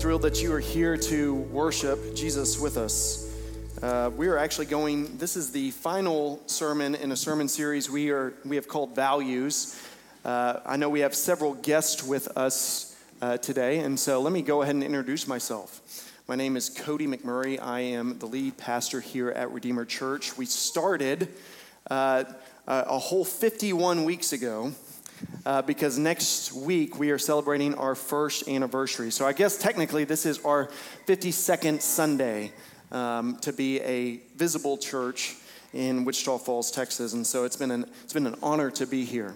thrilled that you are here to worship Jesus with us. We are actually this is the final sermon in a sermon series we have called Values. I know we have several guests with us today, and so let me go ahead and introduce myself. My name is Cody McMurray. I am the lead pastor here at Redeemer Church. We started a whole 51 weeks ago. Because next week we are celebrating our first anniversary. So I guess technically this is our 52nd Sunday to be a visible church in Wichita Falls, Texas. And so it's been an honor to be here,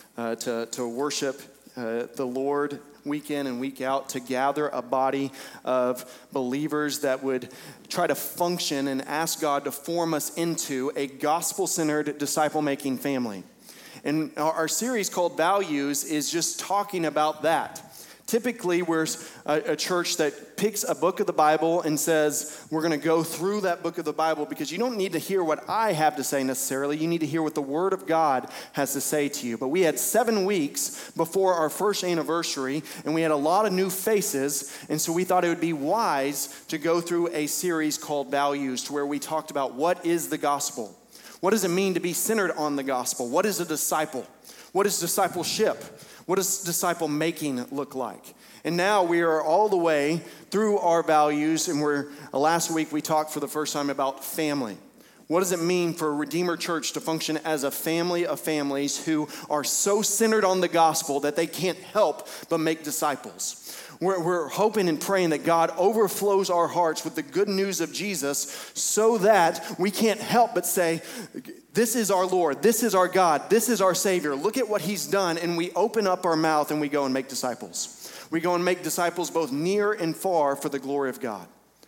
to worship the Lord week in and week out, to gather a body of believers that would try to function and ask God to form us into a gospel-centered, disciple-making family. And our series called Values is just talking about that. Typically, we're a church that picks a book of the Bible and says, we're going to go through that book of the Bible because you don't need to hear what I have to say necessarily. You need to hear what the Word of God has to say to you. But we had 7 weeks before our first anniversary, and we had a lot of new faces. And so we thought it would be wise to go through a series called Values, to where we talked about what is the gospel. What does it mean to be centered on the gospel? What is a disciple? What is discipleship? What does disciple making look like? And now we are all the way through our values, and last week we talked for the first time about family. What does it mean for Redeemer Church to function as a family of families who are so centered on the gospel that they can't help but make disciples? We're hoping and praying that God overflows our hearts with the good news of Jesus so that we can't help but say, this is our Lord, this is our God, this is our Savior. Look at what He's done, and we open up our mouth and we go and make disciples. We go and make disciples both near and far for the glory of God.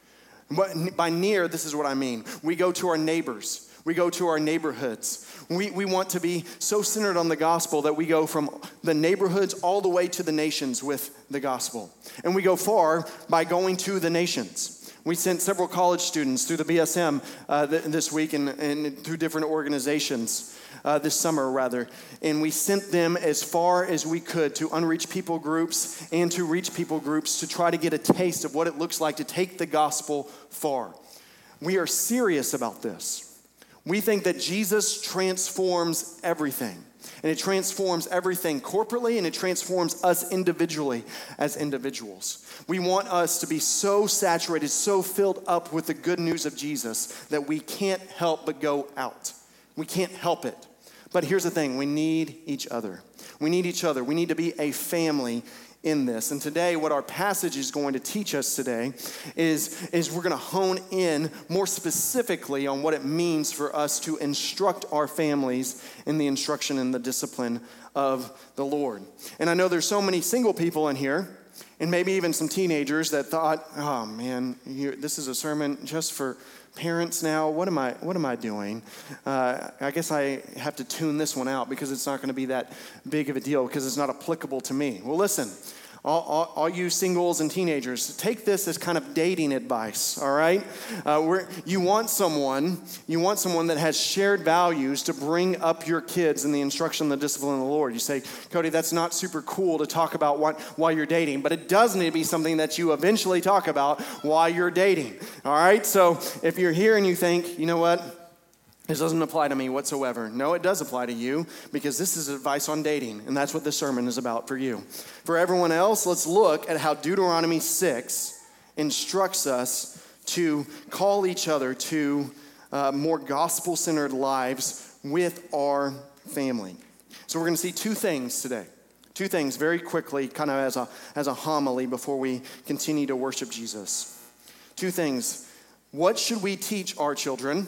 But by near, this is what I mean. We go to our neighbors. We go to our neighborhoods. We want to be so centered on the gospel that we go from the neighborhoods all the way to the nations with the gospel. And we go far by going to the nations. We sent several college students through the BSM this week and through different organizations this summer, rather. And we sent them as far as we could to unreached people groups and to reach people groups to try to get a taste of what it looks like to take the gospel far. We are serious about this. We think that Jesus transforms everything. And it transforms everything corporately, and it transforms us individually as individuals. We want us to be so saturated, so filled up with the good news of Jesus that we can't help but go out. We can't help it. But here's the thing, we need each other. We need each other. We need to be a family in this. And today, what our passage is going to teach us today is we're going to hone in more specifically on what it means for us to instruct our families in the instruction and the discipline of the Lord. And I know there's so many single people in here, and maybe even some teenagers that thought, oh man, this is a sermon just for parents now. What am I doing? I guess I have to tune this one out because it's not going to be that big of a deal because it's not applicable to me. Well, listen, all you singles and teenagers, take this as kind of dating advice, all right? You want someone that has shared values to bring up your kids in the instruction and the discipline of the Lord. You say, Cody, that's not super cool to talk about while you're dating, but it does need to be something that you eventually talk about while you're dating, all right? So if you're here and you think, you know what? This doesn't apply to me whatsoever. No, it does apply to you because this is advice on dating, and that's what this sermon is about for you. For everyone else, let's look at how Deuteronomy 6 instructs us to call each other to more gospel-centered lives with our family. So we're going to see 2 things today. 2 things very quickly, kind of as a homily before we continue to worship Jesus. 2 things. What should we teach our children?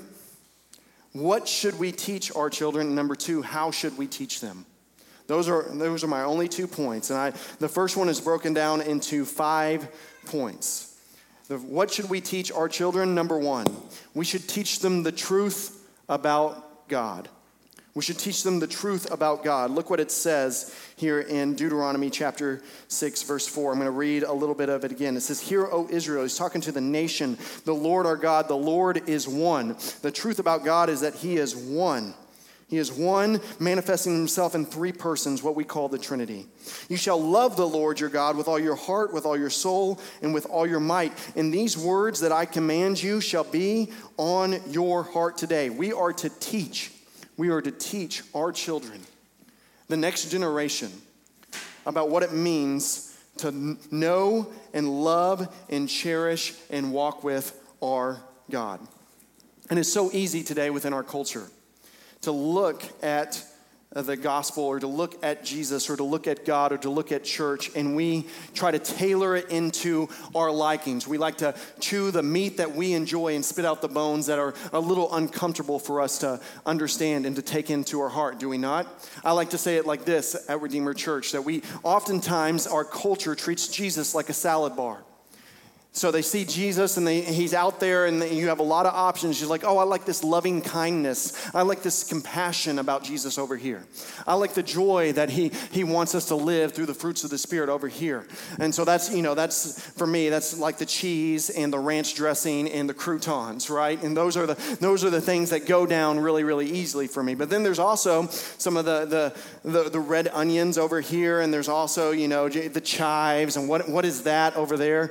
What should we teach our children? Number 2, how should we teach them? Those are my only 2 points. And the first one is broken down into 5 points. What should we teach our children? Number 1, we should teach them the truth about God. We should teach them the truth about God. Look what it says here in Deuteronomy chapter 6, verse 4. I'm going to read a little bit of it again. It says, "Hear, O Israel," he's talking to the nation, "the Lord our God, the Lord is one." The truth about God is that He is one. He is one, manifesting himself in three persons, what we call the Trinity. You shall love the Lord your God with all your heart, with all your soul, and with all your might. And these words that I command you shall be on your heart today. We are to teach our children, the next generation, about what it means to know and love and cherish and walk with our God. And it's so easy today within our culture to look at the gospel or to look at Jesus or to look at God or to look at church, and we try to tailor it into our likings. We like to chew the meat that we enjoy and spit out the bones that are a little uncomfortable for us to understand and to take into our heart, do we not? I like to say it like this at Redeemer Church, that we oftentimes, our culture treats Jesus like a salad bar. So they see Jesus and he's out there and you have a lot of options. You're like, oh, I like this loving kindness. I like this compassion about Jesus over here. I like the joy that he wants us to live through the fruits of the Spirit over here. And so that's for me, that's like the cheese and the ranch dressing and the croutons, right? And those are the things that go down really, really easily for me. But then there's also some of the red onions over here, and there's also, the chives, and what is that over there?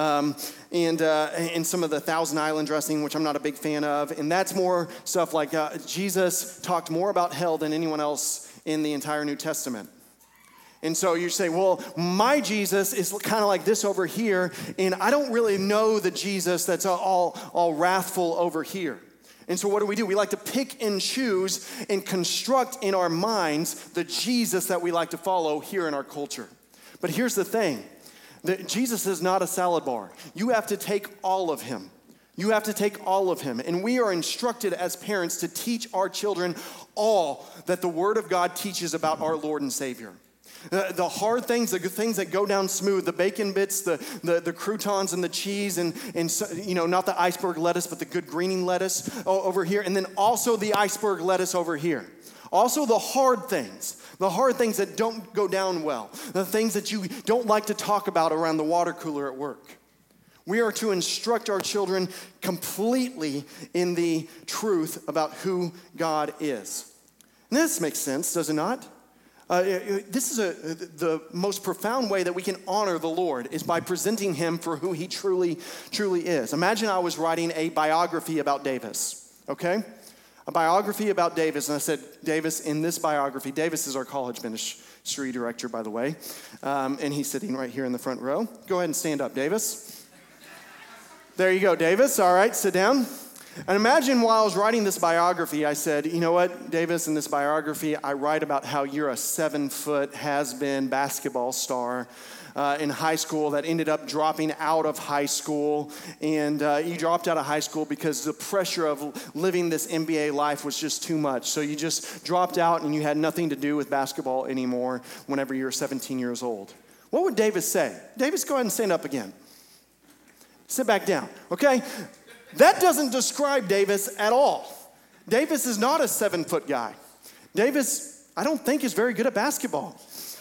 And some of the Thousand Island dressing, which I'm not a big fan of. And that's more stuff like Jesus talked more about hell than anyone else in the entire New Testament. And so you say, well, my Jesus is kind of like this over here, and I don't really know the Jesus that's all wrathful over here. And so what do? We like to pick and choose and construct in our minds the Jesus that we like to follow here in our culture. But here's the thing. Jesus is not a salad bar. You have to take all of him. You have to take all of him. And we are instructed as parents to teach our children all that the Word of God teaches about our Lord and Savior. The hard things, the good things that go down smooth, the bacon bits, the croutons and the cheese, and not the iceberg lettuce, but the good greening lettuce over here, and then also the iceberg lettuce over here. Also the hard things that don't go down well, the things that you don't like to talk about around the water cooler at work. We are to instruct our children completely in the truth about who God is. And this makes sense, does it not? This is the most profound way that we can honor the Lord is by presenting him for who he truly, truly is. Imagine I was writing a biography about Davis, okay? A biography about Davis, and I said, Davis, in this biography, Davis is our college ministry director, by the way, and he's sitting right here in the front row. Go ahead and stand up, Davis. There you go, Davis. All right, sit down. And imagine while I was writing this biography, I said, you know what, Davis, in this biography, I write about how you're a 7-foot has-been basketball star in high school that ended up dropping out of high school. And you dropped out of high school because the pressure of living this NBA life was just too much. So you just dropped out and you had nothing to do with basketball anymore whenever you were 17 years old. What would Davis say? Davis, go ahead and stand up again. Sit back down, okay? That doesn't describe Davis at all. Davis is not a 7-foot guy. Davis, I don't think, is very good at basketball.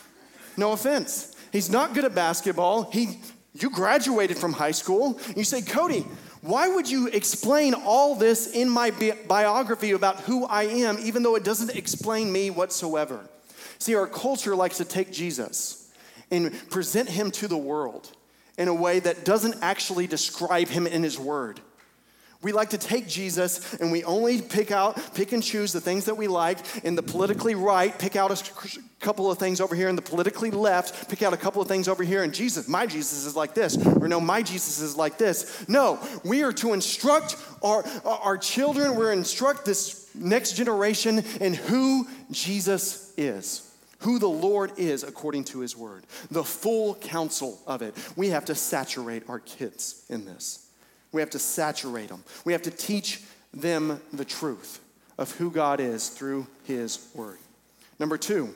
No offense. He's not good at basketball. You graduated from high school. You say, Cody, why would you explain all this in my biography about who I am, even though it doesn't explain me whatsoever? See, our culture likes to take Jesus and present him to the world in a way that doesn't actually describe him in his word. We like to take Jesus and we only pick and choose the things that we like. In the politically right, pick out a couple of things over here. In the politically left, pick out a couple of things over here. And my Jesus is like this. Or no, my Jesus is like this. No, we are to instruct our children. We're to instruct this next generation in who Jesus is. Who the Lord is according to his word. The full counsel of it. We have to saturate our kids in this. We have to saturate them. We have to teach them the truth of who God is through his word. Number 2,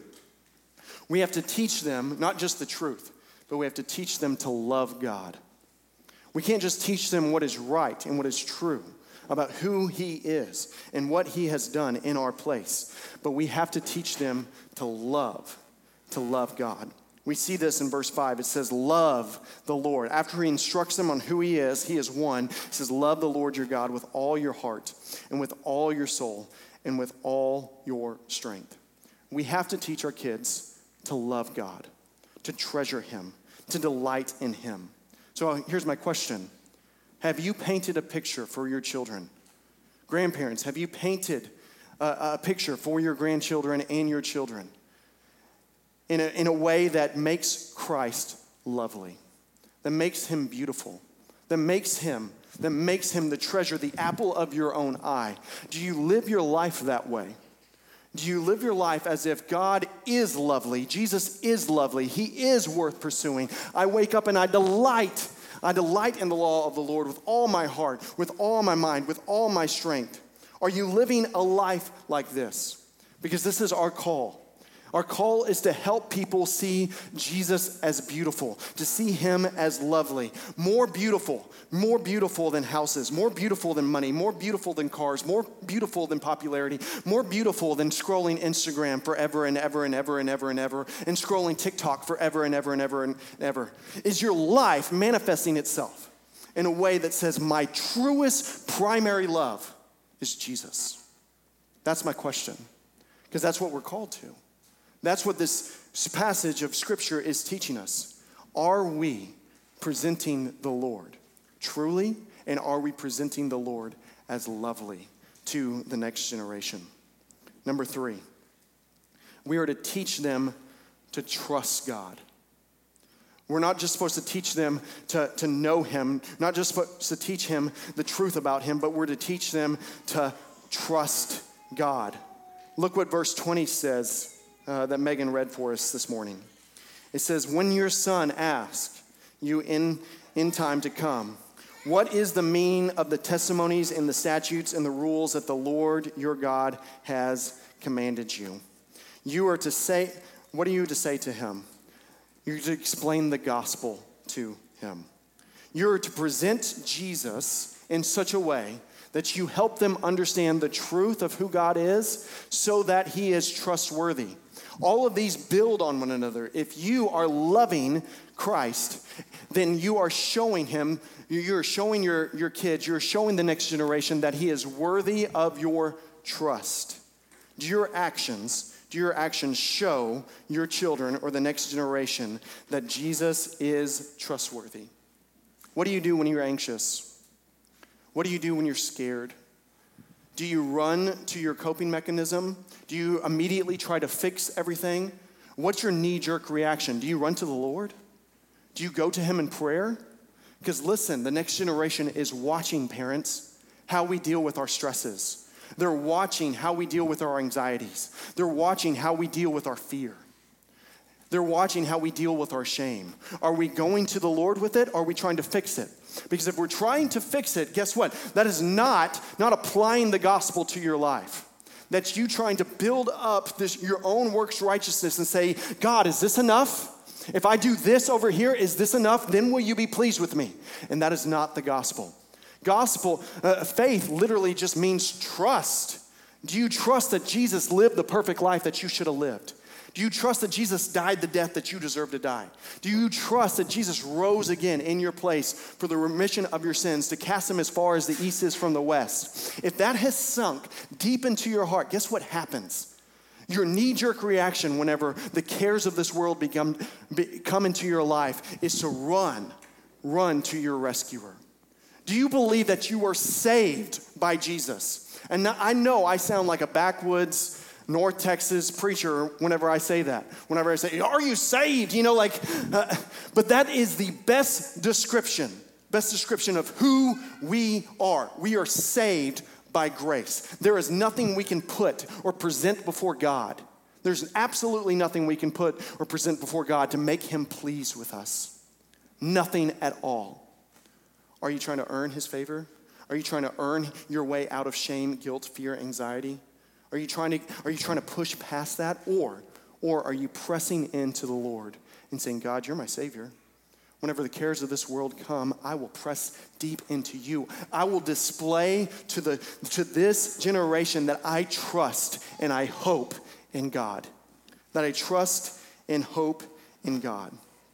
we have to teach them not just the truth, but we have to teach them to love God. We can't just teach them what is right and what is true about who he is and what he has done in our place, but we have to teach them to love God. We see this in verse 5. It says, love the Lord. After he instructs them on who he is one. It says, love the Lord your God with all your heart and with all your soul and with all your strength. We have to teach our kids to love God, to treasure him, to delight in him. So here's my question. Have you painted a picture for your children? Grandparents, have you painted a picture for your grandchildren and your children in a way that makes Christ lovely, that makes him beautiful, that makes him the treasure, the apple of your own eye? Do you live your life that way? Do you live your life as if God is lovely, Jesus is lovely, he is worth pursuing? I wake up and I delight in the law of the Lord with all my heart, with all my mind, with all my strength. Are you living a life like this? Because this is our call. Our call is to help people see Jesus as beautiful, to see him as lovely, more beautiful than houses, more beautiful than money, more beautiful than cars, more beautiful than popularity, more beautiful than scrolling Instagram forever and ever and ever and ever and ever, and scrolling TikTok forever and ever and ever and ever. Is your life manifesting itself in a way that says, my truest primary love is Jesus? That's my question, because that's what we're called to. That's what this passage of Scripture is teaching us. Are we presenting the Lord truly, and are we presenting the Lord as lovely to the next generation? Number 3, we are to teach them to trust God. We're not just supposed to teach them to know him, not just supposed to teach him the truth about him, but we're to teach them to trust God. Look what verse 20 says. That Megan read for us this morning. It says, when your son asks you in time to come, what is the meaning of the testimonies and the statutes and the rules that the Lord your God has commanded you? You are to say, what are you to say to him? You're to explain the gospel to him. You're to present Jesus in such a way that you help them understand the truth of who God is so that he is trustworthy. All of these build on one another. If you are loving Christ, then you are showing him, you're showing your kids, you're showing the next generation that he is worthy of your trust. Do your actions show your children or the next generation that Jesus is trustworthy? What do you do when you're anxious? What do you do when you're scared? Do you run to your coping mechanism? Do you immediately try to fix everything? What's your knee-jerk reaction? Do you run to the Lord? Do you go to him in prayer? Because listen, the next generation is watching, parents, how we deal with our stresses. They're watching how we deal with our anxieties. They're watching how we deal with our fear. They're watching how we deal with our shame. Are we going to the Lord with it, or are we trying to fix it? Because if we're trying to fix it, guess what? That is not applying the gospel to your life. That's you trying to build up your own works righteousness and say, God, is this enough? If I do this over here, is this enough? Then will you be pleased with me? And that is not the gospel. Faith literally just means trust. Do you trust that Jesus lived the perfect life that you should have lived? Do you trust that Jesus died the death that you deserve to die? Do you trust that Jesus rose again in your place for the remission of your sins, to cast them as far as the east is from the west? If that has sunk deep into your heart, guess what happens? Your knee-jerk reaction whenever the cares of this world come into your life is to run to your rescuer. Do you believe that you are saved by Jesus? And I know I sound like a backwoods North Texas preacher whenever I say that. Whenever I say, are you saved? But that is the best description of who we are. We are saved by grace. There is nothing we can put or present before God. There's absolutely nothing we can put or present before God to make him pleased with us. Nothing at all. Are you trying to earn his favor? Are you trying to earn your way out of shame, guilt, fear, anxiety? Are you trying to push past that? Or are you pressing into the Lord and saying, God, you're my Savior. Whenever the cares of this world come, I will press deep into you. I will display to this generation that I trust and I hope in God. That I trust and hope in God.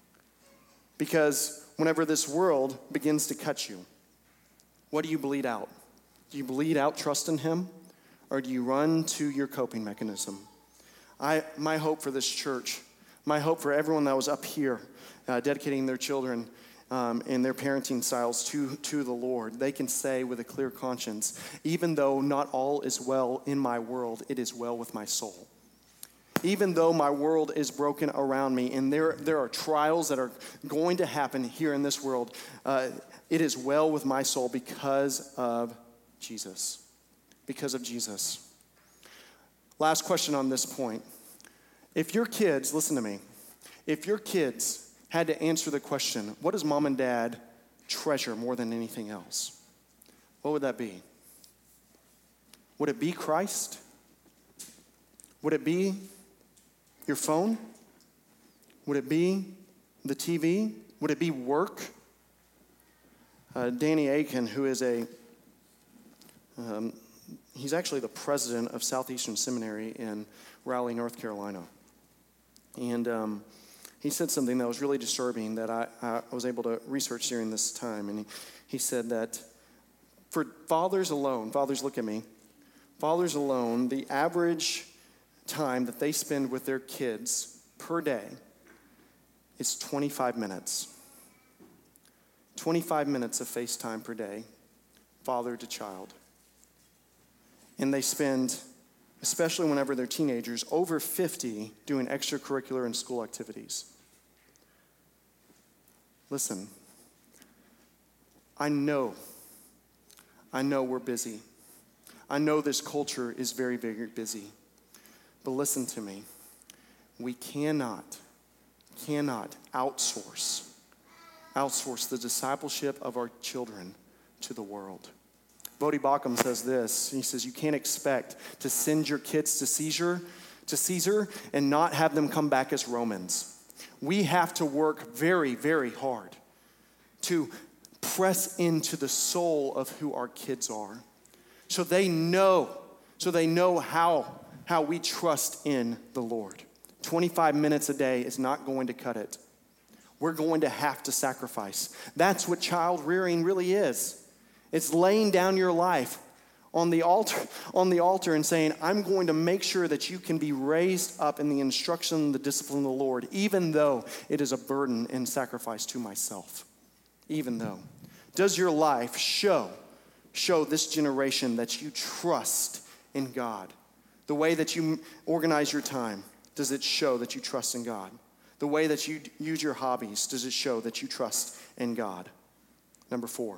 Because whenever this world begins to cut you, what do you bleed out? Do you bleed out trust in him? or do you run to your coping mechanism? My hope for this church, my hope for everyone that was up here dedicating their children and their parenting styles to the Lord, they can say with a clear conscience, even though not all is well in my world, it is well with my soul. Even though my world is broken around me and there are trials that are going to happen here in this world, it is well with my soul because of Jesus. Because of Jesus. Last question on this point. If your kids, listen to me, if your kids had to answer the question, what does mom and dad treasure more than anything else? What would that be? Would it be Christ? Would it be your phone? Would it be the TV? Would it be work? Danny Aiken, who is he's actually the president of Southeastern Seminary in Raleigh, North Carolina. And he said something that was really disturbing that I was able to research during this time. And he said that for fathers alone, fathers look at me, fathers alone, the average time that they spend with their kids per day is 25 minutes. 25 minutes of FaceTime per day, father to child. And they spend, especially whenever they're teenagers, over 50 doing extracurricular and school activities. Listen, I know we're busy. I know this culture is very, very busy. But listen to me. We cannot outsource the discipleship of our children to the world. Bodhi Baucham says this. He says, you can't expect to send your kids to Caesar and not have them come back as Romans. We have to work very, very hard to press into the soul of who our kids are. So they know how we trust in the Lord. 25 minutes a day is not going to cut it. We're going to have to sacrifice. That's what child rearing really is. It's laying down your life on the altar and saying, I'm going to make sure that you can be raised up in the instruction and the discipline of the Lord, even though it is a burden and sacrifice to myself. Even though. Does your life show this generation that you trust in God? The way that you organize your time, does it show that you trust in God? The way that you use your hobbies, does it show that you trust in God? Number 4,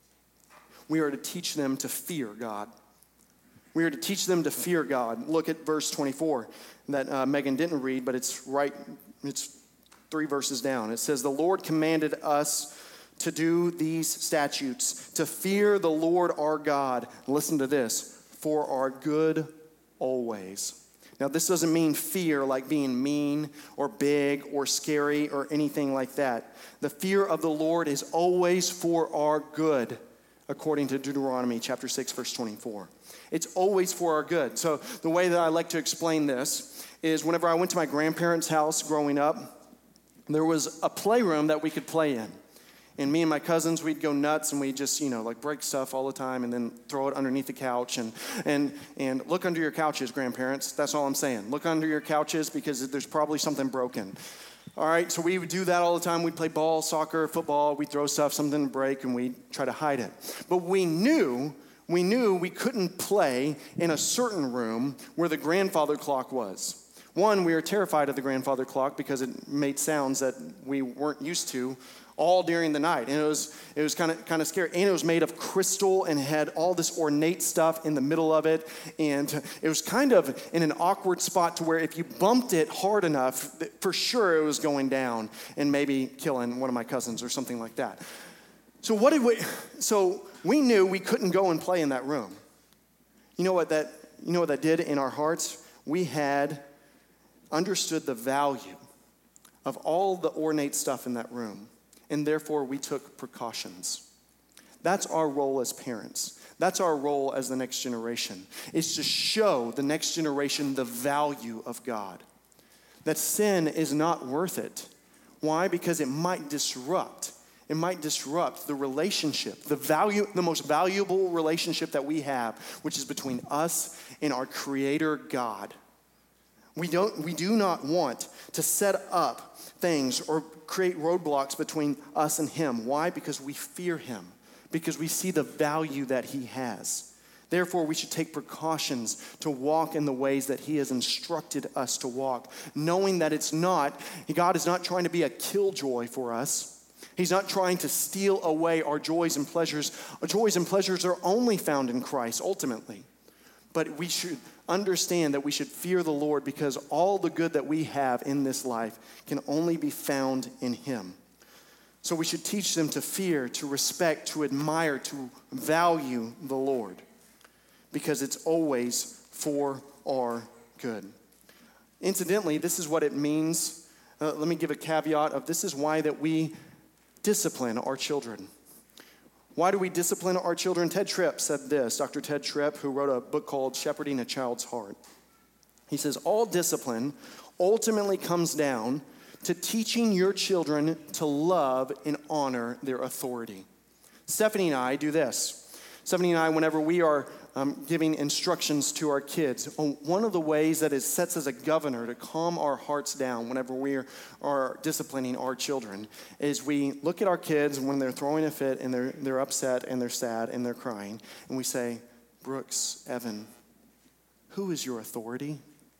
we are to teach them to fear God. We are to teach them to fear God. Look at verse 24 that Megan didn't read, but it's 3 verses down. It says, the Lord commanded us to do these statutes, to fear the Lord our God. Listen to this, for our good always. Now, this doesn't mean fear like being mean or big or scary or anything like that. The fear of the Lord is always for our good, according to Deuteronomy chapter 6, verse 24. It's always for our good. So the way that I like to explain this is whenever I went to my grandparents' house growing up, there was a playroom that we could play in. And me and my cousins, we'd go nuts and we'd just, break stuff all the time and then throw it underneath the couch. And look under your couches, grandparents. That's all I'm saying. Look under your couches because there's probably something broken. All right, so we would do that all the time. We'd play ball, soccer, football. We'd throw stuff, something would break, and we'd try to hide it. But we knew we couldn't play in a certain room where the grandfather clock was. One, we were terrified of the grandfather clock because it made sounds that we weren't used to all during the night. And it was kind of scary. And it was made of crystal and had all this ornate stuff in the middle of it. And it was kind of in an awkward spot to where if you bumped it hard enough, for sure it was going down and maybe killing one of my cousins or something like that. So we knew we couldn't go and play in that room. You know what that did in our hearts? We had understood the value of all the ornate stuff in that room. And therefore, we took precautions. That's our role as parents. That's our role as the next generation, is to show the next generation the value of God. That sin is not worth it. Why? Because it might disrupt It might disrupt the relationship, the most valuable relationship that we have, which is between us and our Creator God. We do not want to set up things or create roadblocks between us and Him. Why? Because we fear Him, because we see the value that He has. Therefore, we should take precautions to walk in the ways that He has instructed us to walk, knowing that God is not trying to be a killjoy for us. He's not trying to steal away our joys and pleasures. Our joys and pleasures are only found in Christ, ultimately. But we should understand that we should fear the Lord because all the good that we have in this life can only be found in Him. So we should teach them to fear, to respect, to admire, to value the Lord, because it's always for our good. Incidentally, this is what it means. Let me give a caveat of this is why that we discipline our children. Why do we discipline our children? Ted Tripp said this, Dr. Ted Tripp, who wrote a book called Shepherding a Child's Heart. He says, all discipline ultimately comes down to teaching your children to love and honor their authority. Stephanie and I do this. Stephanie and I, whenever we are giving instructions to our kids, one of the ways that it sets as a governor to calm our hearts down whenever we are disciplining our children is we look at our kids when they're throwing a fit and they're upset and they're sad and they're crying, and we say, Brooks, Evan, who is your authority?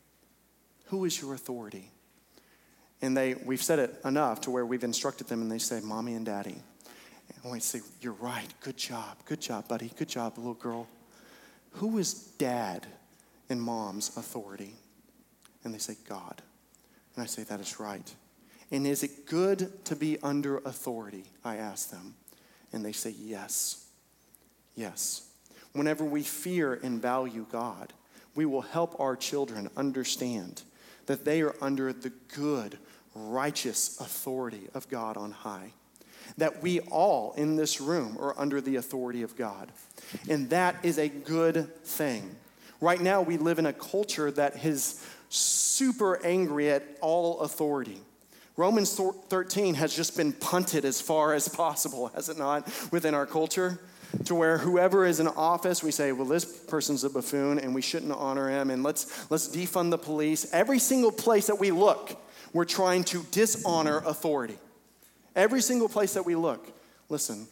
Who is your authority? And we've said it enough to where we've instructed them, and they say, Mommy and Daddy. And we say, you're right. Good job, buddy. Good job, little girl. Who is Dad and Mom's authority? And they say, God. And I say, that is right. And is it good to be under authority? I ask them. And they say, yes. Yes. Whenever we fear and value God, we will help our children understand that they are under the good, righteous authority of God on high. That we all in this room are under the authority of God. And that is a good thing. Right now, we live in a culture that is super angry at all authority. Romans 13 has just been punted as far as possible, has it not, within our culture? To where whoever is in office, we say, well, this person's a buffoon and we shouldn't honor him, and let's defund the police. Every single place that we look, we're trying to dishonor authority. Every single place that we look. Listen,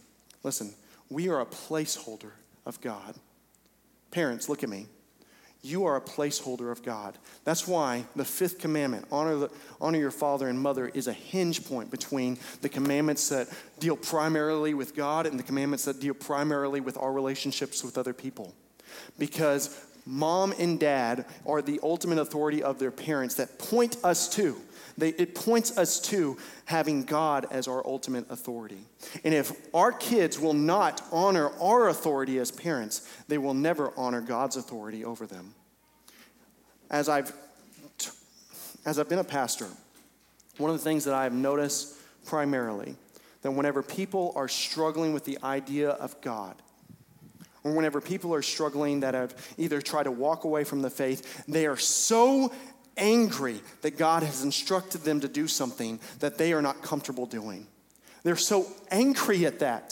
we are a placeholder of God. Parents, look at me. You are a placeholder of God. That's why the fifth commandment, honor your father and mother, is a hinge point between the commandments that deal primarily with God and the commandments that deal primarily with our relationships with other people. Because mom and dad are the ultimate authority of their parents that point us to. It points us to having God as our ultimate authority. And if our kids will not honor our authority as parents, they will never honor God's authority over them. As I've been a pastor, one of the things that I have noticed primarily, that whenever people are struggling with the idea of God, or whenever people are struggling that have either tried to walk away from the faith, they are so angry that God has instructed them to do something that they are not comfortable doing. They're so angry at that.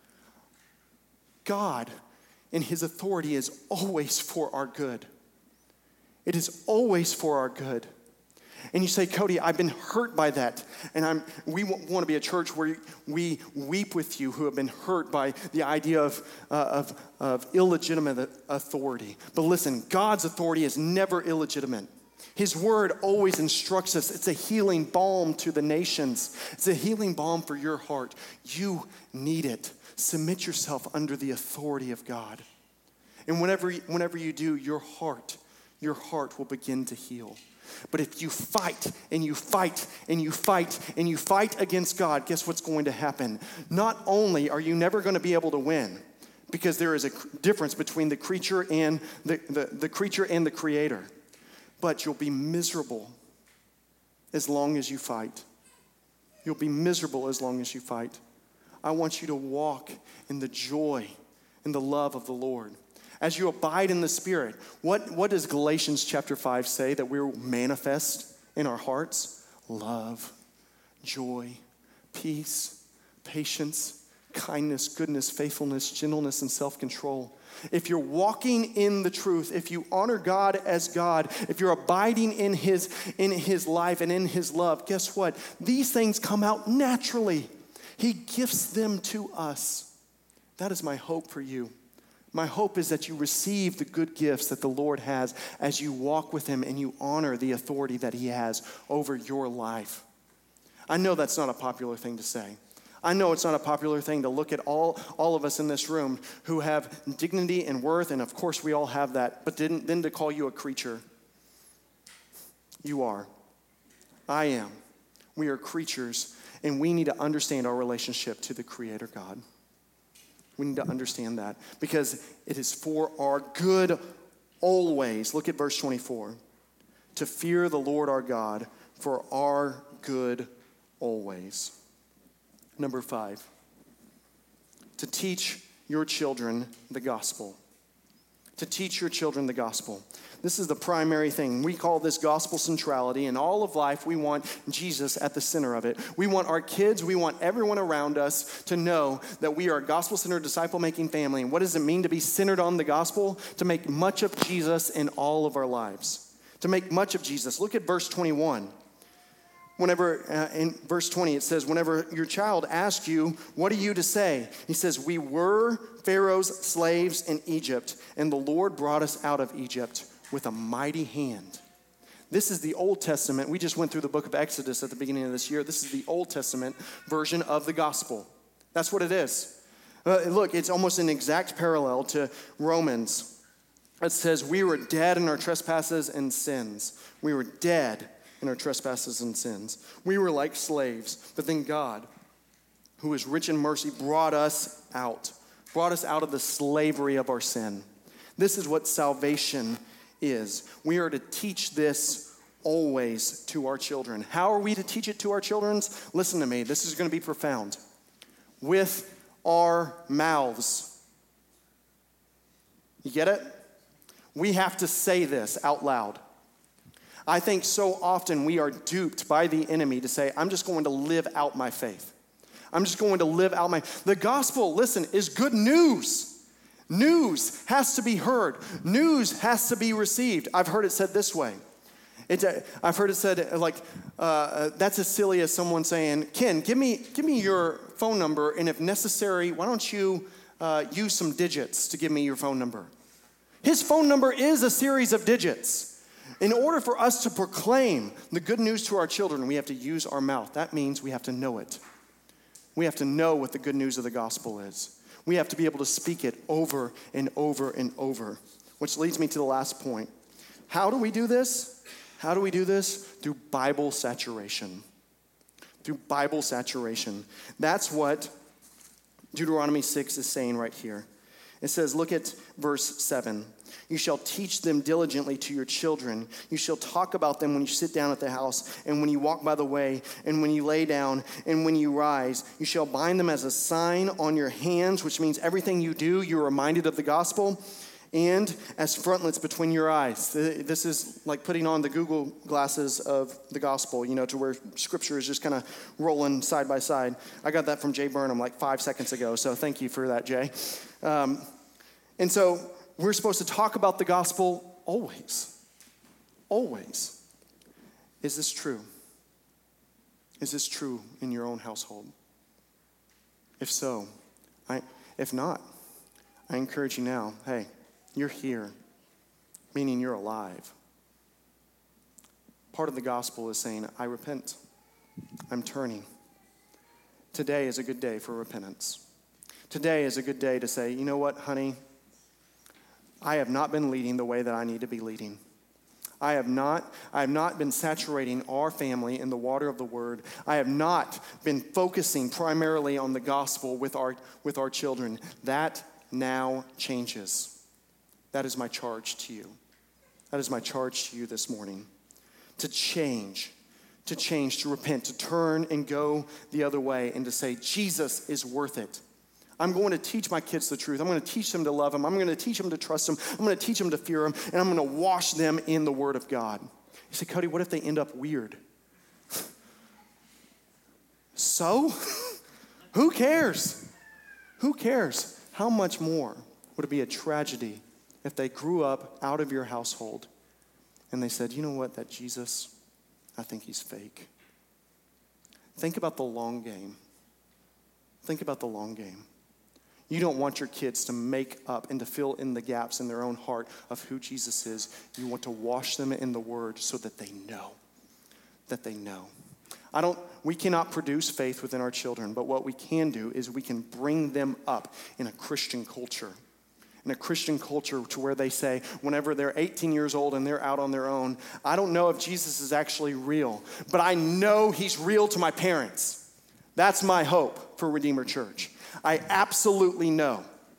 God, in His authority, is always for our good. It is always for our good. And you say, Cody, I've been hurt by that. And we want to be a church where we weep with you who have been hurt by the idea of illegitimate authority. But listen, God's authority is never illegitimate. His word always instructs us. It's a healing balm to the nations. It's a healing balm for your heart. You need it. Submit yourself under the authority of God. And whenever you do, your heart will begin to heal. But if you fight and you fight and you fight and you fight against God, guess what's going to happen? Not only are you never going to be able to win, because there is a difference between the creature and the creature and the creator, but you'll be miserable as long as you fight. You'll be miserable as long as you fight. I want you to walk in the joy and the love of the Lord. As you abide in the Spirit, what does Galatians chapter 5 say that we will manifest in our hearts? Love, joy, peace, patience, kindness, goodness, faithfulness, gentleness, and self-control. If you're walking in the truth, if you honor God as God, if you're abiding in his life and in his love, guess what? These things come out naturally. He gifts them to us. That is my hope for you. My hope is that you receive the good gifts that the Lord has as you walk with him and you honor the authority that he has over your life. I know that's not a popular thing to say. I know it's not a popular thing to look at all of us in this room who have dignity and worth, and of course we all have that, but then to call you a creature. You are. I am. We are creatures, and we need to understand our relationship to the Creator God. We need to understand that because it is for our good always. Look at verse 24. To fear the Lord our God for our good always. Number 5, to teach your children the gospel. To teach your children the gospel. This is the primary thing. We call this gospel centrality. In all of life, we want Jesus at the center of it. We want our kids, we want everyone around us to know that we are a gospel-centered, disciple-making family. And what does it mean to be centered on the gospel? To make much of Jesus in all of our lives. To make much of Jesus. Look at verse 21. Whenever, in verse 20, it says, whenever your child asks you, what are you to say? He says, we were Pharaoh's slaves in Egypt, and the Lord brought us out of Egypt with a mighty hand. This is the Old Testament. We just went through the book of Exodus at the beginning of this year. This is the Old Testament version of the gospel. That's what it is. Look, it's almost an exact parallel to Romans. It says, we were dead in our trespasses and sins. We were dead in our trespasses and sins. We were like slaves, but then God, who is rich in mercy, brought us out of the slavery of our sin. This is what salvation is. We are to teach this always to our children. How are we to teach it to our children? Listen to me, this is going to be profound. With our mouths. You get it? We have to say this out loud. I think so often we are duped by the enemy to say, I'm just going to live out my faith. I'm just going to live out the gospel, listen, is good news. News has to be heard. News has to be received. I've heard it said this way. I've heard it said that's as silly as someone saying, Ken, give me your phone number, and if necessary, why don't you use some digits to give me your phone number? His phone number is a series of digits. In order for us to proclaim the good news to our children, we have to use our mouth. That means we have to know it. We have to know what the good news of the gospel is. We have to be able to speak it over and over and over, which leads me to the last point. How do we do this? How do we do this? Through Bible saturation. Through Bible saturation. That's what Deuteronomy 6 is saying right here. It says, look at verse 7. You shall teach them diligently to your children. You shall talk about them when you sit down at the house, and when you walk by the way, and when you lay down, and when you rise. You shall bind them as a sign on your hands, which means everything you do, you're reminded of the gospel, and as frontlets between your eyes. This is like putting on the Google glasses of the gospel, to where scripture is just kind of rolling side by side. I got that from Jay Burnham like 5 seconds ago, so thank you for that, Jay. And so we're supposed to talk about the gospel always. Always. Is this true? Is this true in your own household? If so, if not, I encourage you now, hey, you're here, meaning you're alive. Part of the gospel is saying, I repent. I'm turning. Today is a good day for repentance. Today is a good day to say, you know what, honey? I have not been leading the way that I need to be leading. I have not been saturating our family in the water of the word. I have not been focusing primarily on the gospel with our children. That now changes. That is my charge to you. That is my charge to you this morning. To change, to repent, to turn and go the other way, and to say, Jesus is worth it. I'm going to teach my kids the truth. I'm going to teach them to love him. I'm going to teach them to trust him. I'm going to teach them to fear him. And I'm going to wash them in the word of God. You say, Cody, what if they end up weird? So? Who cares? Who cares? How much more would it be a tragedy if they grew up out of your household and they said, you know what, that Jesus, I think he's fake. Think about the long game. Think about the long game. You don't want your kids to make up and to fill in the gaps in their own heart of who Jesus is. You want to wash them in the Word so that they know. That they know. We cannot produce faith within our children, but what we can do is we can bring them up in a Christian culture. In a Christian culture to where they say, whenever they're 18 years old and they're out on their own, I don't know if Jesus is actually real, but I know he's real to my parents. That's my hope for Redeemer Church. I absolutely know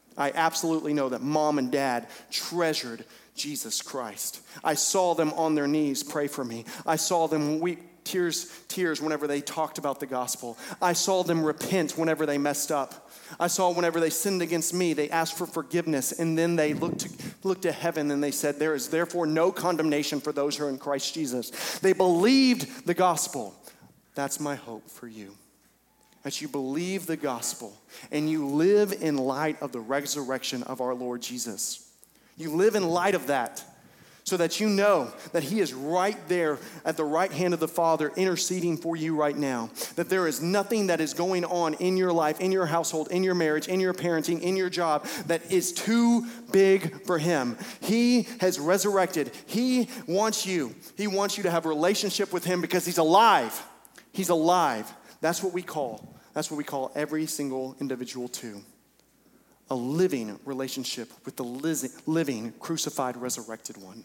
that mom and dad treasured Jesus Christ. I saw them on their knees pray for me. I saw them weep tears whenever they talked about the gospel. I saw them repent whenever they messed up. I saw whenever they sinned against me, they asked for forgiveness, and then they looked to heaven and they said, there is therefore no condemnation for those who are in Christ Jesus. They believed the gospel. That's my hope for you. That you believe the gospel and you live in light of the resurrection of our Lord Jesus. You live in light of that so that you know that he is right there at the right hand of the Father interceding for you right now. That there is nothing that is going on in your life, in your household, in your marriage, in your parenting, in your job that is too big for him. He has resurrected. He wants you to have a relationship with him because he's alive. He's alive. That's what we call every single individual to. A living relationship with the living, crucified, resurrected one.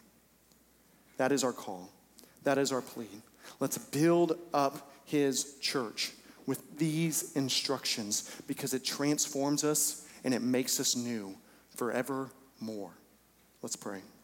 That is our call. That is our plea. Let's build up his church with these instructions because it transforms us and it makes us new forevermore. Let's pray.